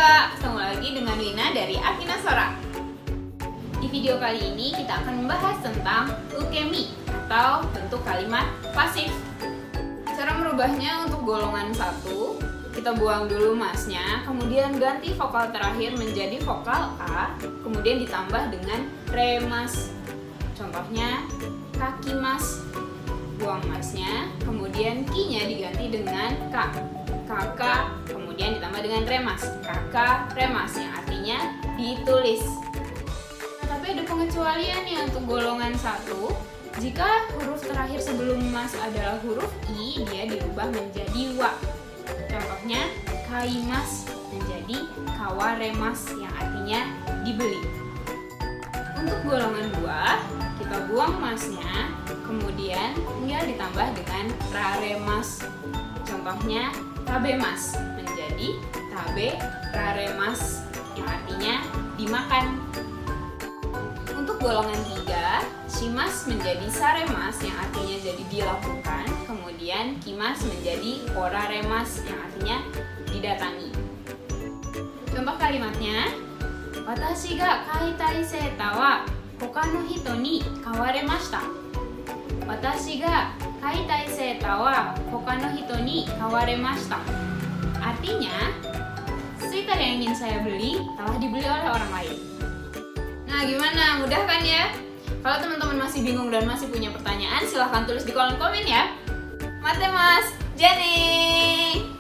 Konnichiwa, ketemu lagi dengan Wina dari Akina Sora. Di video kali ini kita akan membahas tentang ukemi atau bentuk kalimat pasif. Cara merubahnya untuk golongan 1, kita buang dulu masnya, kemudian ganti vokal terakhir menjadi vokal A, kemudian ditambah dengan remas. Contohnya kaki mas, buang masnya, kemudian ki-nya diganti dengan k, kakak, kemudian ditambah dengan remas, kakak remas, yang artinya ditulis. Tapi ada pengecualian nih untuk golongan 1. Jika huruf terakhir sebelum mas adalah huruf i, dia dirubah menjadi wa. Contohnya kaimas menjadi kawaremas, yang artinya dibeli. Untuk golongan 2, kita buang masnya, kemudian dia ditambah dengan raremas. Contohnya tabemas menjadi tabe raremas, yang artinya dimakan. Untuk golongan 3, shimas menjadi saremas, yang artinya jadi dilakukan. Kemudian kimas menjadi oraremas, yang artinya didatangi. Contoh kalimatnya, watashi ga kaitai seta wa hoka no hito ni kawaremashita. Watashi ga kaitai seta wa hoka no hito ni kawaremashita. Artinya, sweater yang ingin saya beli telah dibeli oleh orang lain. Nah, gimana? Mudah kan ya? Kalau teman-teman masih bingung dan masih punya pertanyaan, silahkan tulis di kolom komen ya. Mate mas, Jenny!